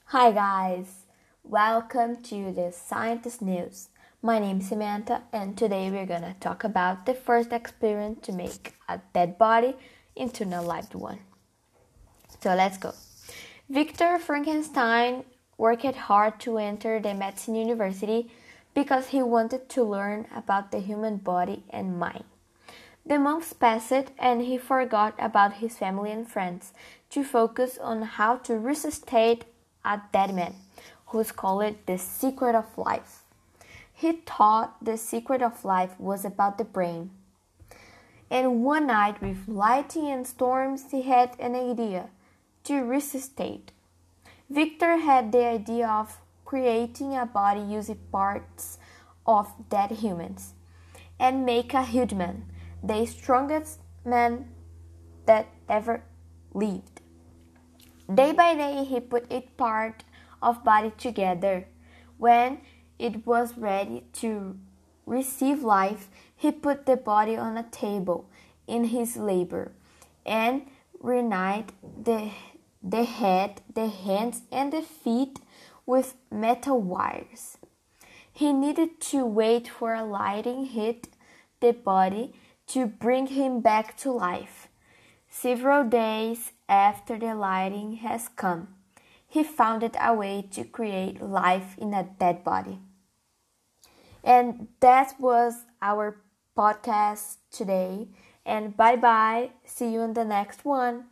Hi guys, welcome to the Scientist News. My name is Samantha and today we're gonna talk about the first experiment to make a dead body into a lived one. So let's go. Victor Frankenstein worked hard to enter the medicine university because he wanted to learn about the human body and mind. The months passed and he forgot about his family and friends to focus on how to resuscitate a dead man, who's called the secret of life. He thought the secret of life was about the brain. And one night with lightning and storms he had an idea to resuscitate. Victor had the idea of creating a body using parts of dead humans and make a huge man, the strongest man that ever lived. Day by day he put each part of body together. When it was ready to receive life, he put the body on a table in his labor and reunited the head, the hands, and the feet with metal wires. He needed to wait for a lightning hit the body to bring him back to life. Several days after the lightning has come, he found a way to create life in a dead body. And that was our podcast today. And bye bye. See you in the next one.